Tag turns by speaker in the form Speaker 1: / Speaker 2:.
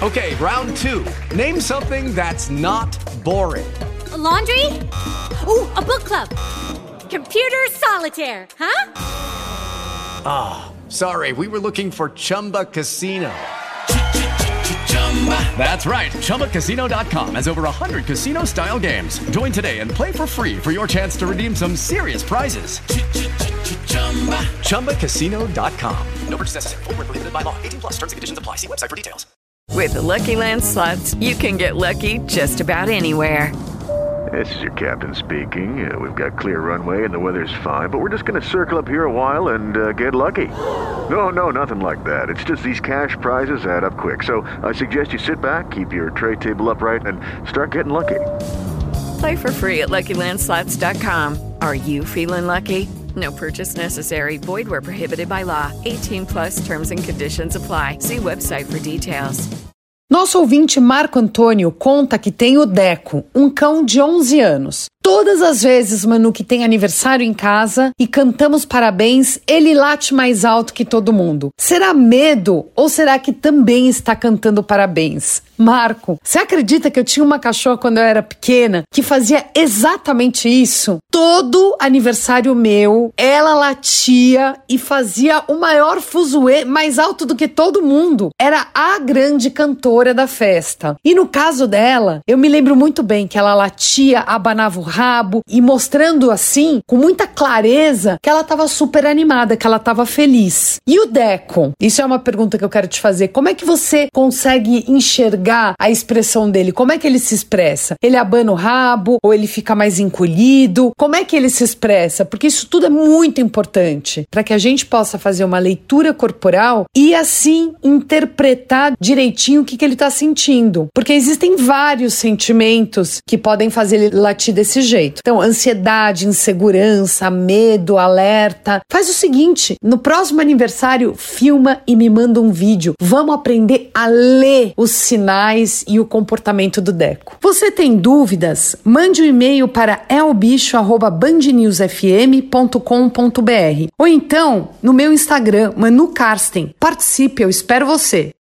Speaker 1: Okay, round two. Name something that's not boring.
Speaker 2: A laundry? Ooh, a book club. Computer solitaire, huh?
Speaker 1: Ah, sorry, we were looking for Chumba Casino. That's right, ChumbaCasino.com has over 100 casino-style games. Join today and play for free for your chance to redeem some serious prizes. ChumbaCasino.com. No purchase necessary. Void where prohibited by law. 18 plus terms and conditions apply. See website for details.
Speaker 3: With the Lucky Land Slots, you can get lucky just about anywhere.
Speaker 4: This is your captain speaking. We've got clear runway and the weather's fine, but we're just going to circle up here a while and get lucky. No, nothing like that. It's just these cash prizes add up quick. So I suggest you sit back, keep your tray table upright, and start getting lucky.
Speaker 3: Play for free at LuckyLandSlots.com. Are you feeling lucky? No purchase necessary. Void where prohibited by law. 18 plus terms and conditions apply. See website for details.
Speaker 5: Nosso ouvinte Marco Antônio conta que tem o Deco, um cão de 11 anos. Todas as vezes, Manu, que tem aniversário em casa e cantamos parabéns, ele late mais alto que todo mundo. Será medo ou será que também está cantando parabéns? Marco, você acredita que eu tinha uma cachorra quando eu era pequena que fazia exatamente isso? Todo aniversário meu, ela latia e fazia o maior fuzuê mais alto do que todo mundo. Era a grande cantora da festa. E no caso dela, eu me lembro muito bem que ela latia, abanava o rabo e mostrando assim, com muita clareza, que ela estava super animada, que ela estava feliz. E o Deco? Isso é uma pergunta que eu quero te fazer. Como é que você consegue enxergar a expressão dele? Como é que ele se expressa? Ele abana o rabo ou ele fica mais encolhido? Como é que ele se expressa? Porque isso tudo é muito importante para que a gente possa fazer uma leitura corporal e assim interpretar direitinho o que ele está sentindo. Porque existem vários sentimentos que podem fazer ele latir desse jeito. Então, ansiedade, insegurança, medo, alerta. Faz o seguinte, no próximo aniversário, filma e me manda um vídeo. Vamos aprender a ler os sinais e o comportamento do Deco. Você tem dúvidas? Mande um e-mail para elbicho@bandnewsfm.com.br ou então no meu Instagram, Manu Karsten. Participe, eu espero você.